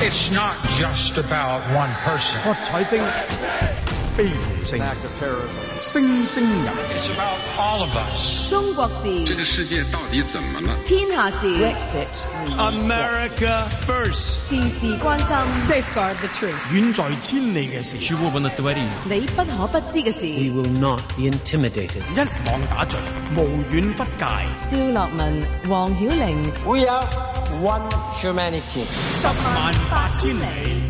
It's not just about one person. 喝彩聲、悲劇聲、聲聲入。 It's about all of us. 中國事， 這個世界到底怎麼了？ 天下事 America first， 事事關心 Safeguard the truth， 遠在千里嘅事， 你不可不知嘅事。 We will not be intimidated。 一網打盡，無遠弗屆。 蕭樂文、黃曉玲 We are one humanity。 108000里。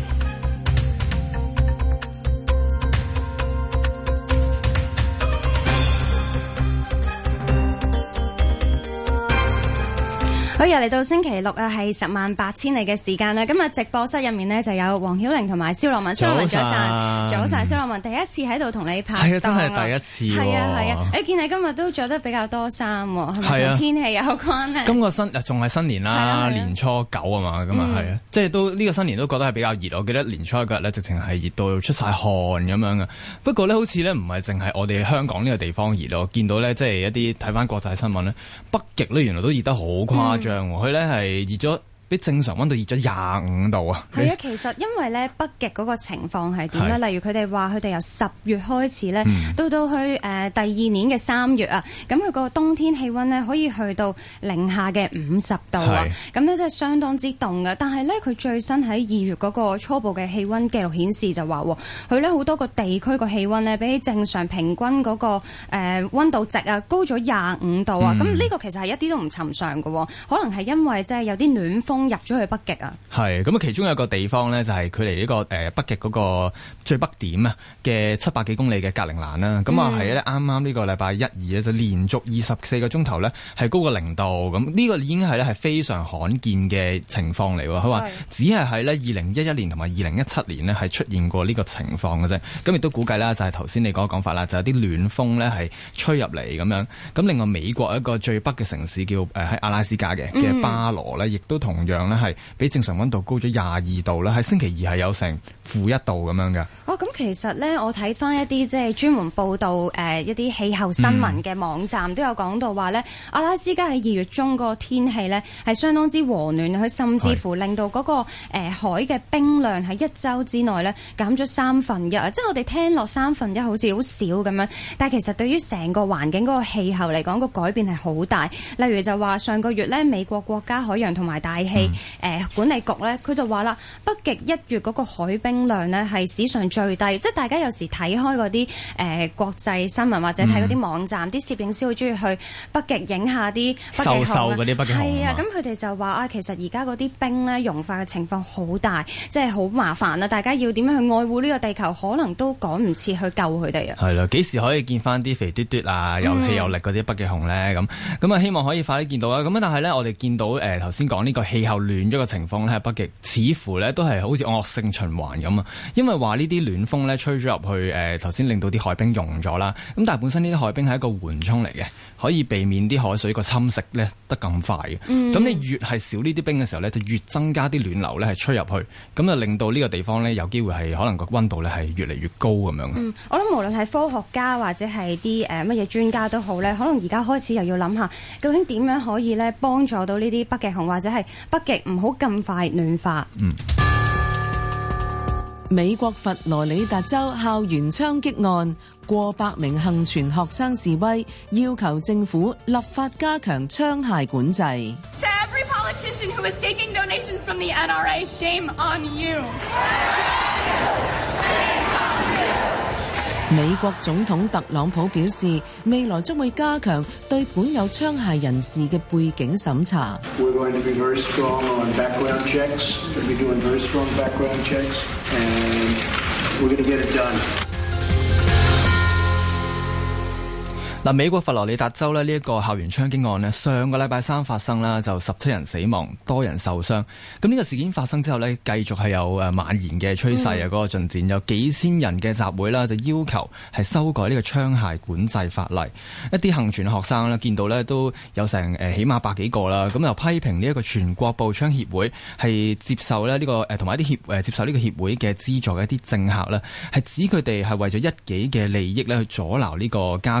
好，又嚟到星期六啊，係108000里嘅時間啦。今日直播室入面呢，就有黃曉玲同埋蕭樂文。蕭樂文早晨，早晨，蕭樂文第一次喺度同你拍檔。 係啊，真係第一次。 係啊。見你今日都着得比較多衫喎，係咪同天氣有關呢？ 今個仲係新年啦，年初9啊嘛，咁啊係啊，即係都呢個新年都覺得係比較熱。我記得年初1嗰日咧，直情係熱到出晒汗咁樣嘅。不過咧，好似咧唔係淨係我哋香港呢個地方熱咯，見到咧即係一啲睇翻國際新聞咧，北極咧原來都熱得好誇張。佢咧係熱咗，比正常溫度熱咗25度啊！ 係啊，其實因為咧北極嗰個情況係點咧？例如佢哋話佢哋由10月開始咧，到去第二年嘅3月啊，咁佢個冬天氣溫咧可以去到零下嘅50度啊！咁咧真係相當之凍嘅。但係咧佢最新喺2月嗰個初步嘅氣溫記錄顯示就話，佢咧好多個地區個氣溫咧比起正常平均嗰個溫度值啊高咗25度啊！咁呢個其實係一啲都唔尋常嘅，可能係因為即係有啲暖風入咗去北極啊。係咁啊，其中有一個地方咧就係距離呢個北極嗰個最北點啊嘅700幾公里嘅格陵蘭啦。咁啊係咧啱啱呢個禮拜1、2咧就連續24個鐘頭咧係高過0度。咁呢個已經係咧係非常罕見嘅情況嚟喎。佢話只係喺咧2011年同埋2017年呢係出現過呢個情況嘅啫。咁亦都估計啦，就係頭先你嗰個講法啦，就有啲暖風咧係吹入嚟咁樣。咁另外美國一個最北嘅城市叫喺阿拉斯加嘅巴羅咧，亦都同樣咧係比正常溫度高咗22度啦。喺星期2係有成-1度咁樣嘅。 咁其實咧，我睇翻一啲即係專門報導一啲氣候新聞嘅網站都有講到話咧，阿拉斯加喺2月中個天氣咧係相當之和暖，佢甚至乎令到嗰個海嘅冰量喺1週之內咧減咗1/3。即係我哋聽落1/3好似好少咁樣，但係其實對於成個環境嗰個氣候嚟講，個改變係好大。例如就話上個月咧，美國國家海洋同埋大氣管理局咧，佢就話啦，北極1月嗰個海冰量呢係史上最低。即係大家有時睇開嗰啲國際新聞或者睇嗰啲網站，啲攝影師好中意去北極影下啲北極熊嗰啲北極熊。 係啊，咁佢哋就話其實而家嗰啲冰咧融化嘅情況好大，即係好麻煩啦。大家要點樣去愛護呢個地球，可能都趕唔切去救佢哋啊。係啦， 幾時可以見翻啲肥嘟嘟啊，有氣有力嗰啲北極熊咧？咁啊，希望可以快啲見到啦。咁但係咧，我哋見到頭先講呢個氣候暖咗嘅情況咧，喺北極似乎咧都係好似惡性循環咁啊。因為話呢啲暖風咧吹咗入去頭先令到啲海冰融咗啦。咁但係本身呢啲海冰係一個緩衝嚟嘅，可以避免啲海水個侵蝕咧得咁快嘅。咁你越係少呢啲冰嘅時候咧，就越增加啲暖流咧係吹入去，咁就令到呢個地方咧有機會係可能個溫度咧係越嚟越高咁樣。 我諗無論係科學家或者係啲乜嘢專家都好咧，可能而家開始又要諗下究竟點樣可以咧幫助到呢啲北極熊或者係北極唔好咁快暖化。 美國佛羅里達州校園槍擊案，過百名幸存學生示威，要求政府立法加強槍械管制。 To every politician who is taking donations from the NRA, shame on you. 美國總統特朗普表示，未來將會加強對管有槍械人士嘅背景審查。 We're going to be very strong on background checks. We're going to be doing very strong background checks, and we're going to get it done. 嗱，美國佛羅里達州呢一個校園槍擊案呢，上個禮拜3發生啦，就17人死亡，多人受傷。咁呢個事件發生之後呢，繼續係有蔓延嘅趨勢啊，嗰個進展有幾千人嘅集會啦，就要求係修改呢個槍械管制法例。一啲幸存學生呢，見到呢都有成起碼100幾個啦，咁又批評呢一個全國步槍協會係接受呢個同埋一啲接受呢個協會嘅資助嘅一啲政客呢，係指佢哋係為咗一己嘅利益呢去阻撓呢個加強槍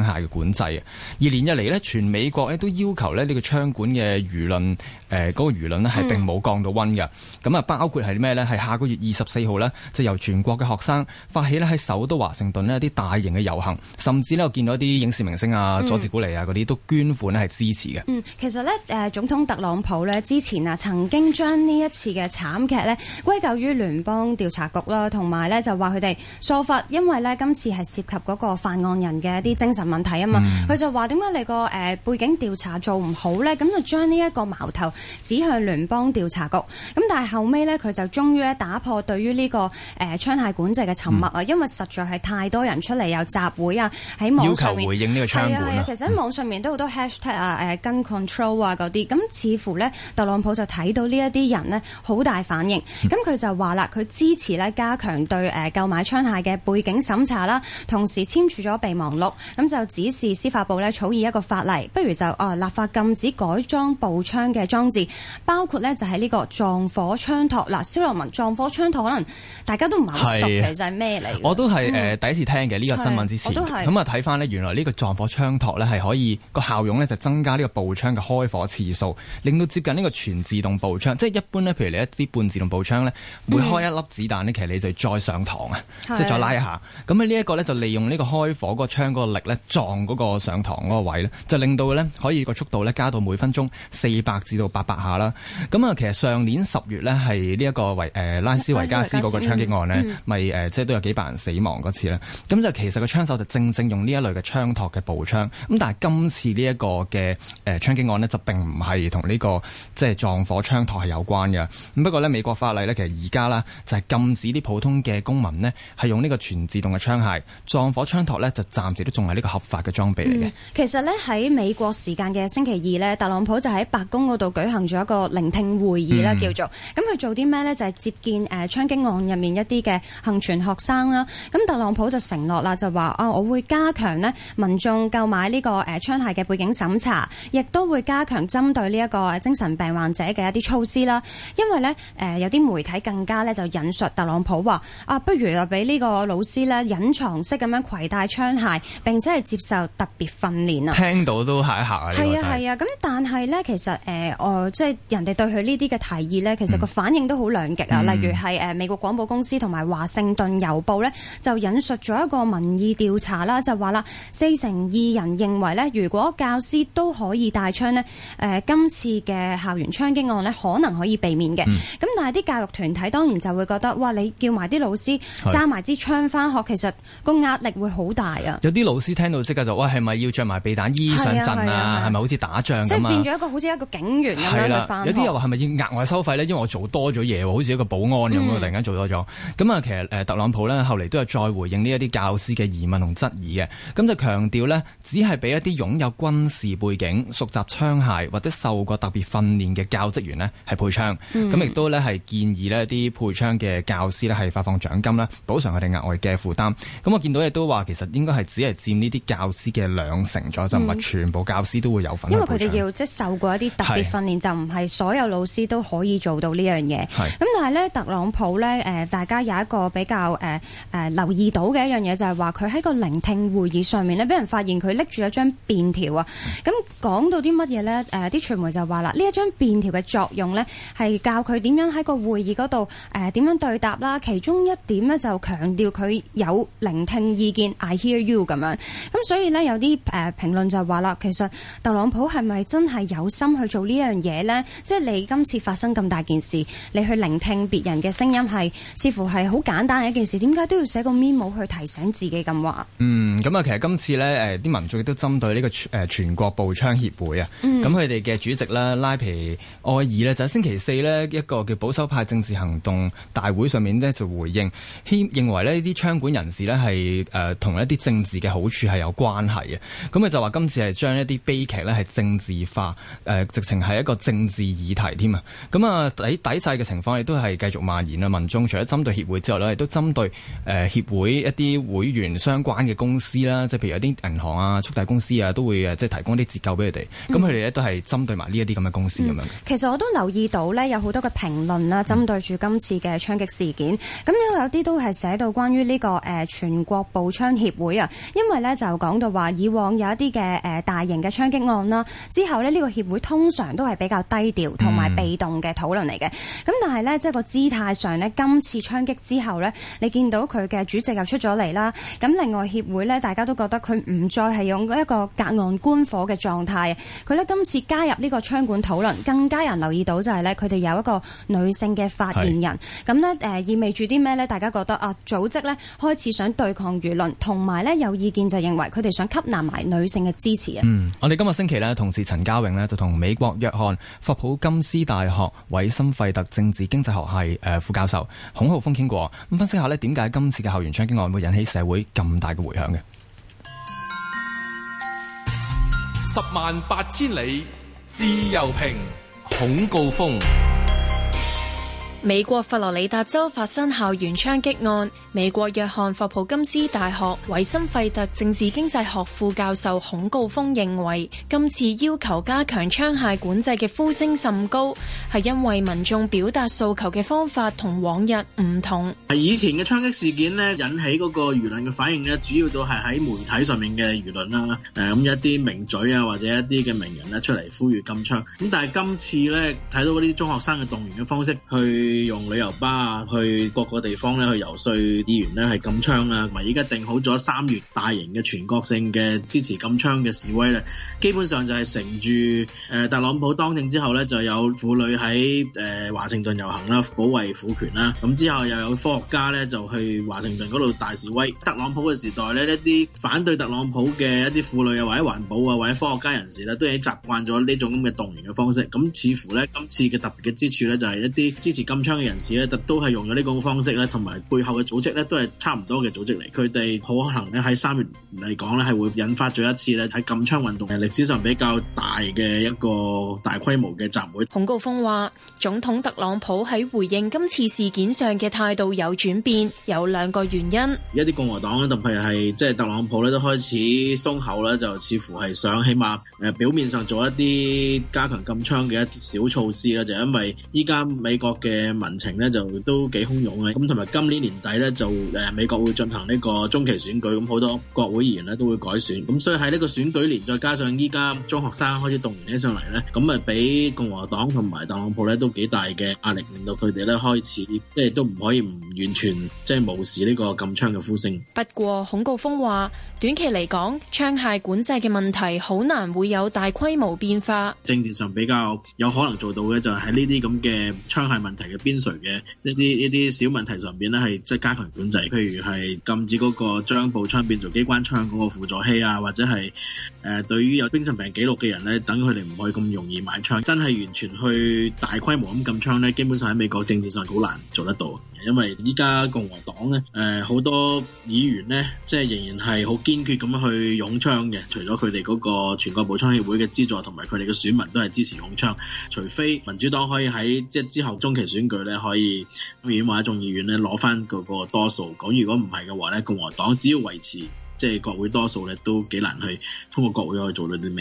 械嘅管制啊。而連日嚟呢，全美國咧都要求咧呢個槍管嘅輿論嗰個輿論咧係並冇降到溫嘅。咁啊，包括係咩呢？係下個月24號呢，就由全國嘅學生發起咧喺首都華盛頓呢一啲大型嘅遊行，甚至呢我見到一啲影視明星啊、佐治古尼啊嗰啲都捐款咧係支持嘅。 其實呢，總統特朗普呢之前啊曾經將呢一次嘅慘劇呢歸咎於聯邦調查局啦，同埋呢就話佢哋疏忽，因為呢今次係涉及嗰個犯案人嘅一啲精神問題啊嘛。佢就話點解你個背景調查做唔好呢？咁就將呢一個矛頭指向聯邦調查局。咁但係後尾呢，佢就終於打破對於呢個槍械管制嘅沉默啊，因為實在係太多人出嚟有集會啊，喺網上面要求回應呢個槍管。 其實喺網上面都好多 hashtag 啊、gun control 啊嗰啲，咁似乎呢，特朗普就睇到呢一啲人呢好大反應，咁佢就話啦，佢支持呢加強對購買槍械嘅背景審查啦，同時簽署咗備忘錄，咁就指示司法部呢草擬一個法例，不如就立法禁止改裝步槍嘅裝置，包括呢就係呢個撞火槍托。嗱，蕭洛汶，撞火槍托可能大家都唔係好熟，其實係咩嚟？ 我都係第一次聽嘅呢個新聞之前，咁啊睇翻呢，原來呢個撞火槍托呢係可以個效用呢就增加呢個步槍嘅開火次數，令到接近呢個全自動步槍。即係一般呢，譬如你一啲半自動步槍呢，每開一粒子彈呢，其實你就再上膛啊，即係再拉一下。咁喺呢一個呢，就利用呢個開火嗰個槍嗰個力呢，撞嗰個上膛嗰個位呢，就令到呢可以個速度呢加到每分鐘400至到800下啦。咁啊，其實上年10月呢，係呢一個拉斯維加斯嗰個槍擊案呢，咪即係都有幾百人死亡嗰次咧。咁就其實個槍手就正用呢一類嘅槍托嘅步槍。咁但係今次呢一個嘅槍擊案呢，就並唔係同呢個即係撞火槍托係有關嘅。咁不過呢，美國法例呢，其實而家啦就係禁止啲普通嘅公民呢係用呢個全自動嘅槍械，撞火槍托呢，就暫時都仲係呢個合法嘅裝備嚟嘅。 其實呢，喺美國時間嘅星期二呢，特朗普就喺白宮嗰度舉行咗一個聆聽會議啦，叫做咁佢做啲咩呢？就係接見槍擊案入面一啲嘅幸存學生啦。咁特朗普就承諾啦，就話我會加強呢民眾購買呢個槍械嘅背景審查，亦都會加強針對呢一個精神病患者嘅一啲措施啦。因為呢，有啲媒體更加呢就引述特朗普話不如就俾呢個老師呢隱藏式咁樣攜帶槍械，並且係接受特別訓練啊。 聽到都嚇一嚇啊！ 係啊，咁但係呢，其實即係人哋對佢呢啲嘅提議呢，其實個反應都好兩極啊。例如係美國廣播公司同埋華盛頓郵報呢，就引述咗一個民意調查啦，就話啦，42%人認為呢，如果教師都可以帶槍呢，今次嘅校園槍擊案呢，可能可以避免嘅。咁但係啲教育團體當然就會覺得，哇！你叫埋啲老師揸埋支槍返學，其實個壓力會好大啊。 有啲老師聽到即刻就，喂，係咪要着埋避彈衣上陣啊？係咪好似打仗咁啊？ 即係變咗一個好似一個警員咁樣去返學。 有啲又話係咪要額外收費呢？因為我做多咗嘢喎，好似一個保安咁樣，突然間做多咗。咁啊，其實特朗普呢，後嚟都有再回應呢一啲教師嘅疑問同質疑嘅。咁就強調呢，只係俾一啲擁有軍事背景、熟習槍械或者受過特別訓練嘅教職員呢係配槍。咁亦都呢係建議呢啲配槍嘅教師呢係發放獎金啦，補償佢哋額外嘅負擔。咁我見到亦都話，其實應該係只係佔呢啲教師嘅2成咗，就唔係全部教師都會有份。 因為佢哋要即係受過一啲特別訓練，就唔係所有老師都可以做到呢樣嘢。咁但係呢，特朗普呢，大家有一個比較留意到嘅一樣嘢，就係話佢喺個聆聽會議上面呢，俾人發現佢拎住一張便條啊。咁講到啲乜嘢呢？啲傳媒就話啦，呢一張便條嘅作用呢，係教佢點樣喺個會議嗰度點樣對答啦。其中一點呢，就強調佢有聆聽意見 ，I hear you 咁樣。咁所以呢，有啲評論就話啦，其實特朗普係咪真係有心去做呢樣嘢呢？即係你今次發生咁大件事，你去聆聽別人嘅聲音係似乎係好簡單嘅一件事，點解都要寫個 memo 去提醒自己咁話？ 咁啊，其實今次呢，啲民眾亦都針對呢個全國步槍協會啊，咁佢哋嘅主席啦，拉皮埃爾呢，就喺星期四呢一個叫保守派政治行動大會上面呢，就回應，認為呢啲槍管人士呢係同一啲政治嘅好處係有關係嘅。咁佢就話今次係將一啲悲劇呢係政治化，直情係一個政治議題添啊。咁啊抵制嘅情況亦都係繼續蔓延啦。民眾除咗針對協會之外呢，亦都針對協會一啲會員相關嘅公司啦，即係譬如有啲銀行啊、速遞公司啊，都會即係提供一啲折扣俾佢哋。咁佢哋咧都係針對埋呢一啲咁嘅公司咁樣。 其實我都留意到呢，有好多嘅評論啦，針對住今次嘅槍擊事件。咁有啲都係寫到關於呢個全國步槍協會啊，因為呢就講到話，以往有一啲嘅大型嘅槍擊案啦，之後呢個協會通常都係比較低調同埋被動嘅討論嚟嘅。咁但係呢，即係個姿態上呢，今次槍擊之後呢，你見到佢嘅主席又出咗嚟啦。咁另外協會呢，大家都覺得佢唔再係用一個隔岸觀火嘅狀態。佢呢今次加入呢個槍管討論，更加人留意到就係呢，佢哋有一個女性嘅發言人。咁呢意味住啲咩呢？大家覺得組織呢開始想對抗輿論，同埋呢有意見就認為佢哋想吸納埋女性嘅支持啊。 我哋今個星期呢，同事陳家穎呢就同美國約翰霍普金斯大學韋森費特政治經濟學系副教授孔浩峰傾過，咁分析下呢點解今次嘅校園槍擊案會引起社會咁大嘅迴響嘅。 108000里自由評，孔誥烽。 美國佛羅里達州發生校園槍擊案，美國約翰霍普金斯大學韋森費特政治經濟學副教授孔誥烽認為，今次要求加強槍械管制嘅呼聲甚高，係因為民眾表達訴求嘅方法同往日唔同。 以前嘅槍擊事件呢，引起嗰個輿論嘅反應呢，主要都係喺媒體上面嘅輿論啦。咁一啲名嘴啊，或者一啲嘅名人呢出嚟呼籲禁槍。咁但係今次呢，睇到嗰啲中學生嘅動員嘅方式，去用旅遊巴啊，去各個地方咧去遊說議員咧係禁槍啊，同埋依家定好咗3月大型嘅全國性嘅支持禁槍嘅示威咧，基本上就係乘住特朗普當政之後咧，就有婦女喺華盛頓遊行啦，保衛婦權啦，咁之後又有科學家咧就去華盛頓嗰度大示威。特朗普嘅時代咧，一啲反對特朗普嘅一啲婦女啊，或者環保啊，或者科學家人士咧，都已經習慣咗呢種咁嘅動員嘅方式。咁似乎咧，今次嘅特別嘅之處咧，就係一啲支持禁槍嘅人士咧，都係用咗呢個方式咧，同埋背後嘅組織咧，都係差唔多嘅組織嚟。佢哋好可能咧喺3月嚟講咧，係會引發咗一次咧喺禁槍運動歷史上比較大嘅一個大規模嘅集會。 孔誥烽話，總統特朗普喺回應今次事件上嘅態度有轉變，有2個原因。 一啲共和黨咧，特別係即係特朗普咧，都開始鬆口咧，就似乎係想起碼表面上做一啲加強禁槍嘅一啲小措施啦，就因為依家美國嘅民情咧就都幾洶湧嘅，咁同埋今年年底咧就美國會進行呢個中期選舉，咁好多國會議員咧都會改選，咁所以喺呢個選舉年，再加上依家中學生開始動員起上嚟咧，咁啊俾共和黨同埋特朗普咧都幾大嘅壓力，令到佢哋咧開始即係都唔可以唔完全即係無視呢個禁槍嘅呼聲。 不過孔誥烽話，短期嚟講，槍械管制嘅問題好難會有大規模變化。 政治上比較有可能做到嘅就係喺呢啲咁嘅槍械問題嘅邊陲嘅一啲小問題上邊咧，係即係加強管制，譬如係禁止嗰個將步槍變做機關槍嗰個輔助器啊，或者係對於有精神病記錄嘅人咧，等佢哋唔可以咁容易買槍。真係完全去大規模咁禁槍咧，基本上喺美國政治上好難做得到，因為依家共和黨咧好多議員咧，即係仍然係好堅決咁樣去擁槍嘅。除咗佢哋嗰個全國步槍協會嘅資助，同埋佢哋嘅選民都係支持擁槍，除非民主黨可以喺即係之後中期選舉咧，可以議院或者眾議院咧攞翻嗰個多數。咁如果唔係嘅話咧，共和黨只要維持即係國會多數咧，都幾難去通過國會可以做到啲咩。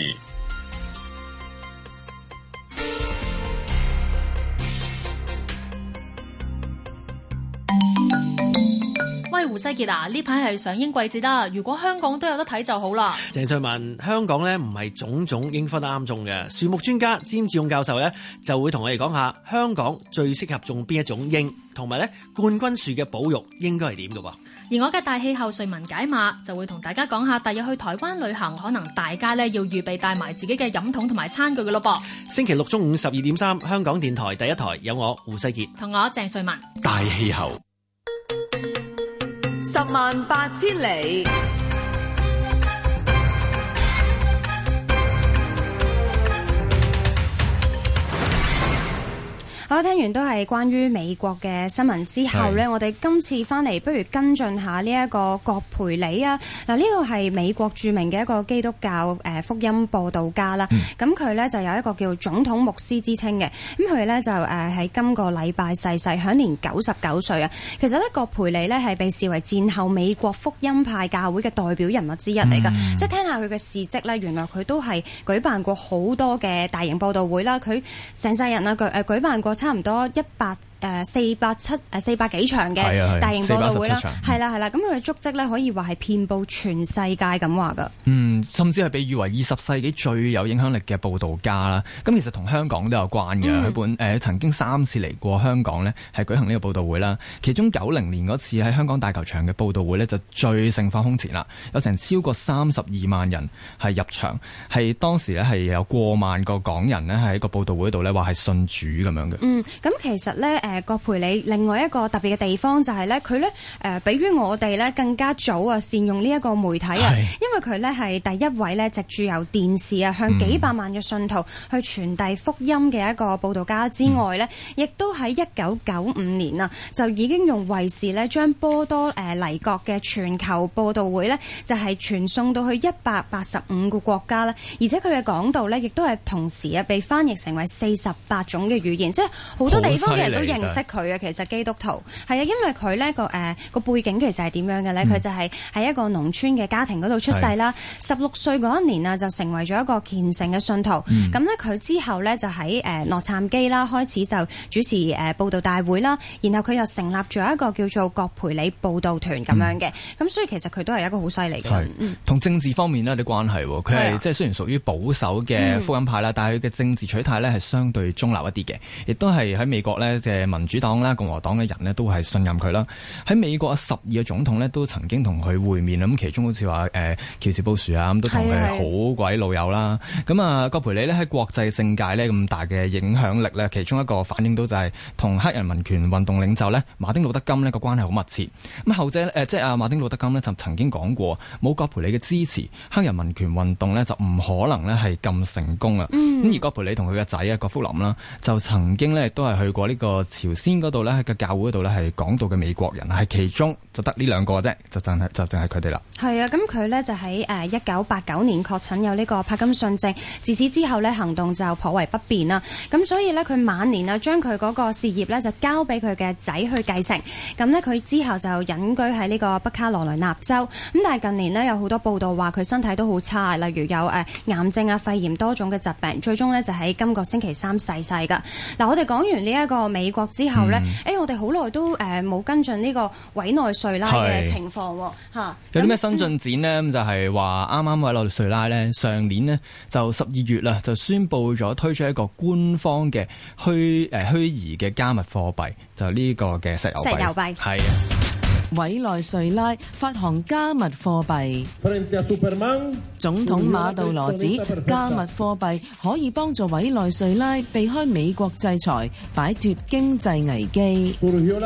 喂，胡世傑啊，呢排係上映季節啦，如果香港都有得睇就好啦。 鄭瑞文，香港呢唔係種種櫻花都啱種嘅，樹木專家詹志勇教授呢就會同我哋講下香港最適合種邊一種櫻，同埋呢冠軍樹嘅保育應該係點嘅喎。 而我嘅大氣候瑞文解碼就會同大家講下，第日去台灣旅行，可能大家呢要預備帶埋自己嘅飲筒同埋餐具嘅咯噃。 星期六中午12:3，香港電台第一台有我胡世傑同我鄭瑞文。 大氣候 108000里。 好，聽完都係關於美國嘅新聞之後呢，我哋今次翻嚟不如跟進下呢一個葛培理啊。嗱，呢個係美國著名嘅一個基督教福音佈道家啦。咁佢呢就有一個叫總統牧師之稱嘅。咁佢呢就喺今個禮拜逝世，享年99歲啊。其實呢，葛培理呢係被視為戰後美國福音派教會嘅代表人物之一嚟㗎。即係聽下佢嘅事蹟呢，原來佢都係舉辦過好多嘅大型佈道會啦。佢成世人啊舉辦過差唔多 400幾場嘅大型報道會啦，係啦，咁佢嘅足跡咧可以話係遍佈全世界咁話噶。 甚至係被譽為20世紀最有影響力嘅報導家啦。咁其實同香港都有關嘅。佢曾經3次嚟過香港呢，係舉行呢個報道會啦。其中90年嗰次喺香港大球場嘅報道會呢，就最盛況空前啦，有成超過32萬人係入場，係當時呢係有過萬個港人呢喺個報道會度呢話係信主咁樣嘅。 咁其實呢，葛培理另外一個特別嘅地方就係呢，佢呢比於我哋呢更加早啊善用呢一個媒體啊，因為佢呢係第一位呢藉住由電視啊向幾百萬嘅信徒去傳遞福音嘅一個報道家之外呢，亦都喺1995年啊就已經用衛視呢將波多黎各嘅全球報道會呢就係傳送到去185個國家啦，而且佢嘅講道呢亦都係同時啊被翻譯成為48種嘅語言，即係好多地方嘅人都認識佢啊。其實基督徒係啊，因為佢呢個背景其實係點樣嘅呢？佢就係喺一個農村嘅家庭嗰度出世啦。16歲嗰一年啊，就成為咗一個虔誠嘅信徒。咁呢，佢之後呢，就喺洛杉磯啦，開始就主持報道大會啦。然後佢又成立咗一個叫做葛培理報道團咁樣嘅。咁所以其實佢都係一個好犀利嘅人。同政治方面呢有啲關係。佢係即係雖然屬於保守嘅福音派啦，但係佢嘅政治取態呢係相對中立一啲嘅，亦都係喺美國呢嘅民主黨啦、共和黨嘅人呢都係信任佢啦。喺美國12個總統呢都曾經同佢會面，咁其中好似話喬治布殊啊，咁都同佢好鬼老友啦。咁啊，葛培理呢喺國際政界呢咁大嘅影響力呢，其中一個反映到就係同黑人民權運動領袖呢馬丁路德金呢個關係好密切。咁後者即係阿馬丁路德金呢就曾經講過，冇葛培理嘅支持，黑人民權運動呢就唔可能呢係咁成功啊。咁而葛培理同佢嘅仔啊葛福林啦，就曾經呢都係去過呢個朝鮮嗰度呢，喺個教會嗰度呢係講道嘅美國人，係其中就得呢2個啫，就淨係佢哋啦。係啊，咁佢呢就喺1989年確診有呢個帕金遜症，自此之後呢行動就頗為不便啦。咁所以呢，佢晚年啊將佢嗰個事業呢就交俾佢嘅仔去繼承。咁呢，佢之後就隱居喺呢個北卡羅來納州。咁但係近年呢，有好多報道話佢身體都好差，例如有癌症啊、肺炎多種嘅疾病，最終呢就喺今個星期3逝世㗎。嗱，我哋講完呢一個美國之後呢，我哋好耐都冇跟進呢個委內瑞拉嘅情況喎。有啲咩新進展呢？咁就係話啱啱委內瑞拉呢，上年呢就12月啦，就宣布咗推出一個官方嘅虛擬嘅加密貨幣，就呢個嘅石油幣。係啊， 委內瑞拉發行加密貨幣。總統馬杜羅指加密貨幣可以幫助委內瑞拉避開美國制裁，擺脫經濟危機。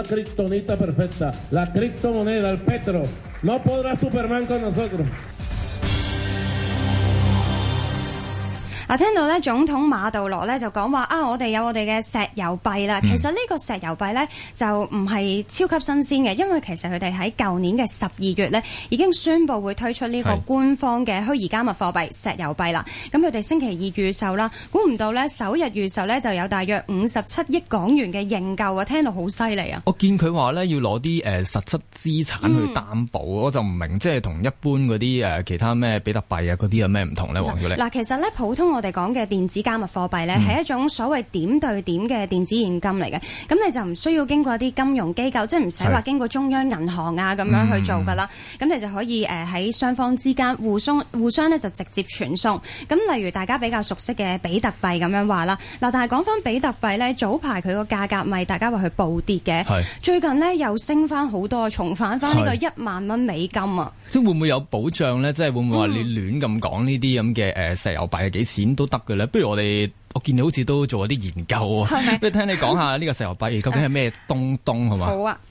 聽到咧總統馬杜羅咧就講話我哋有我哋嘅石油幣啦。其實呢個石油幣咧就唔係超級新鮮嘅，因為其實佢哋喺舊年嘅12月咧已經宣布會推出呢個官方嘅虛擬加密貨幣石油幣啦。咁佢哋星期2預售啦，估唔到咧首日預售咧就有大約57億港元嘅認購啊！聽到好犀利啊！ 我見佢話咧要攞啲實質資產去擔保，我就唔明即係同一般嗰啲其他咩比特幣啊嗰啲有咩唔同咧？黃曉玲嗱， 其實咧普通我哋講嘅電子加密貨幣咧係一種所謂點對點嘅電子現金嚟嘅，咁你就唔需要經過一啲金融機構，即係唔使話經過中央銀行啊咁樣去做噶啦，咁你就可以喺雙方之間互相咧就直接傳送。咁例如大家比較熟悉嘅比特幣咁樣話啦，嗱，但係講翻比特幣咧，早排佢個價格咪大家話佢暴跌嘅，最近咧又升翻好多，重返翻呢個1萬蚊美金啊！ 即係會唔會有保障咧？即係會唔會話你亂咁講呢啲咁嘅石油幣係幾錢都得嘅咧？不如我見你好似都做咗啲研究啊，不如聽你講下呢個石油幣究竟係咩東好嘛？ 好啊！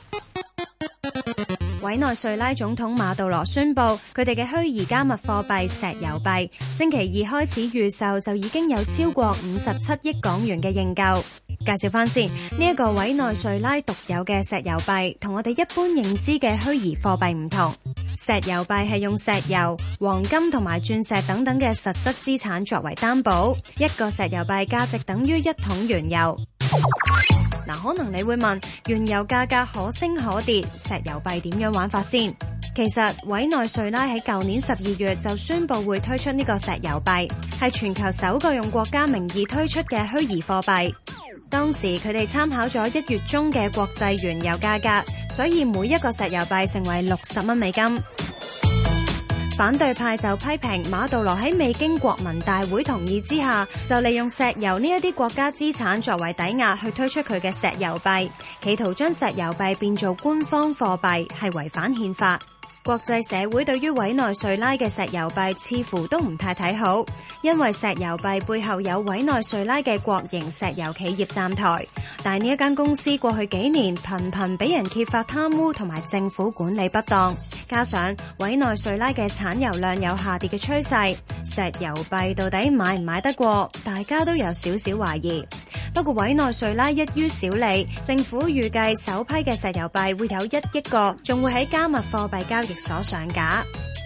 委內瑞拉總統馬杜羅宣布，佢哋嘅虛擬加密貨幣石油幣星期2開始預售，就已經有超過57億港元嘅認購。介紹翻先，呢一個委內瑞拉獨有嘅石油幣，同我哋一般認知嘅虛擬貨幣唔同。石油幣係用石油、黃金同埋鑽石等等嘅實質資產作為擔保，一個石油幣價值等於1桶原油。可能你會問，原油價格可升可跌，石油幣點樣玩法先？其實委內瑞拉喺舊年12月就宣布會推出呢個石油幣，係全球首個用國家名義推出嘅虛擬貨幣。 當時佢哋參考咗1月中嘅國際原油價格，所以每一個石油幣成為60蚊美金。反對派就批評馬杜羅喺未經國民大會同意之下，就利用石油呢一啲國家資產作為抵押去推出佢嘅石油幣，企圖將石油幣變做官方貨幣，係違反憲法。國際社會對於委內瑞拉嘅石油幣似乎都唔太睇好，因為石油幣背後有委內瑞拉嘅國營石油企業站台，但呢一間公司過去幾年頻頻俾人揭發貪污同埋政府管理不當，加上委內瑞拉嘅產油量有下跌嘅趨勢，石油幣到底買唔買得過，大家都有少少懷疑。不過委內瑞拉一於小利，政府預計首批嘅石油幣會有1億個，仲會喺加密貨幣交易所上架。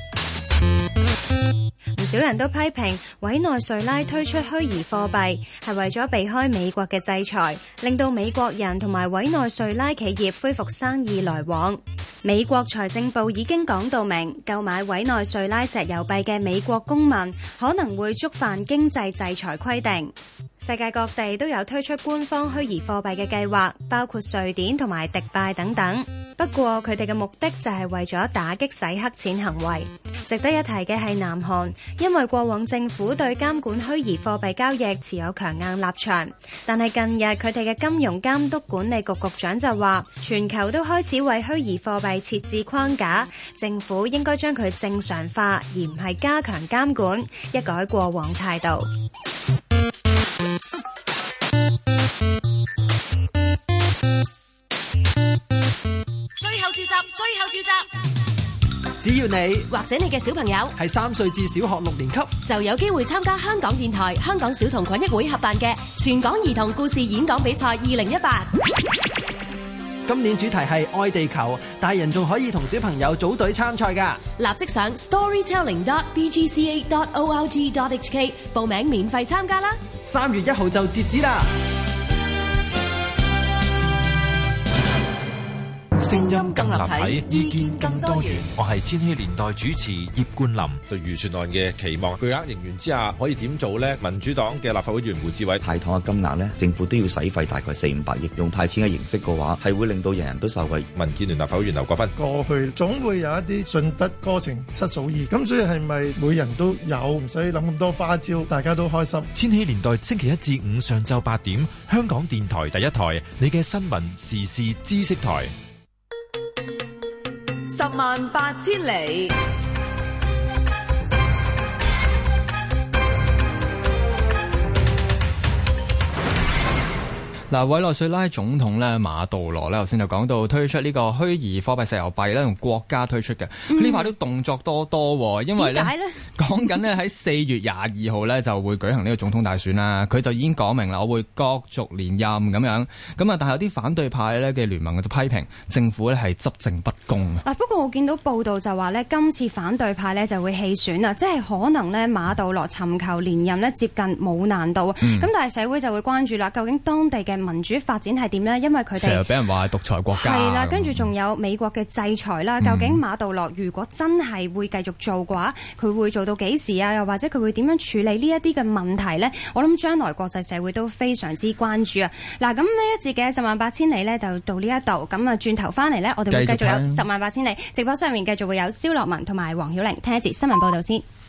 唔少人都批評委內瑞拉推出虛擬貨幣係為咗避開美國嘅制裁，令到美國人同埋委內瑞拉企業恢復生意來往。美國財政部已經講到明，購買委內瑞拉石油幣嘅美國公民可能會觸犯經濟制裁規定。世界各地都有推出官方虛擬貨幣嘅計劃，包括瑞典同埋迪拜等等。不過佢哋嘅目的就係為咗打擊洗黑錢行為。值得一提嘅係南韓，因為過往政府對監管虛擬貨幣交易持有強硬立場，但係近日佢哋嘅金融監督管理局局長就話，全球都開始為虛擬貨幣設置框架，政府應該將佢正常化，而唔係加強監管，一改過往態度。 最後召集， 只要你或者你嘅小朋友係3歲至小學6年級， 就有機會參加香港電台、香港小童群益會合辦嘅全港兒童故事演講比賽2018。 今年主題係愛地球，大人仲可以同小朋友組隊參賽㗎。 立即上 storytelling.bgca.org.hk 報名免費參加啦。 3月1號就截止啦。 聲音更立體，意見更多元。我係千禧年代主持葉冠霖。 對預算案嘅期望，巨額盈餘之下可以點做呢？民主黨嘅立法會議員胡志偉， 派糖嘅金額呢，政府都要使費大概400-500億，用派錢嘅形式嘅話，係會令到人人都受惠。 民建聯立法會議員劉國勳， 過去總會有一啲進得哥情失嫂意，咁所以係咪每人都有，唔使諗咁多花招，大家都開心？ 千禧年代星期1至5上晝8點，香港電台第一台，你嘅新聞時事知識台。 108000里。 嗱，委內瑞拉總統咧馬杜羅咧，頭先就講到推出呢個虛擬貨幣石油幣咧，用國家推出嘅。呢排都動作多多，因為咧講緊咧喺4月22號咧就會舉行呢個總統大選啦。佢就已經講明啦，我會角逐連任咁樣。咁啊，但係有啲反對派咧嘅聯盟就批評政府咧係執政不公啊。 不過我見到報道就話咧，今次反對派咧就會棄選啊，即係可能咧馬杜羅尋求連任咧接近冇難度。咁但係社會就會關注啦，究竟當地嘅民主發展係點呢？因為佢哋成日俾人話係獨裁國家， 係啦，跟住仲有美國嘅制裁啦。究竟馬杜羅如果真係會繼續做嘅話，佢會做到幾時啊？又或者佢會點樣處理呢一啲嘅問題呢？我諗將來國際社會都非常之關注啊！嗱，咁呢一節嘅108000里呢，就到呢一度。咁啊，轉頭翻嚟呢，我哋會繼續有108000里直播室入面繼續會有蕭樂文同埋黃曉玲聽一節新聞報道先。